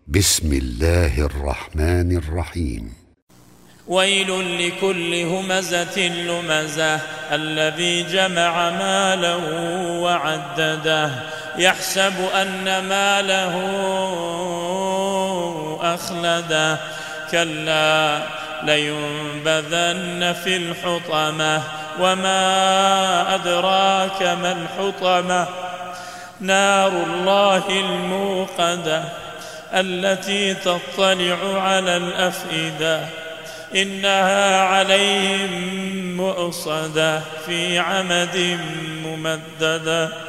بسم الله الرحمن الرحيم. ويل لكل همزة لمزة الذي جمع ماله وعدده يحسب أن ماله أخلده كلا لينبذن في الحطمة وما أدراك ما الحطمة نار الله الموقدة التي تطلع على الأفئدة إنها عليهم مؤصدة في عمد ممددة.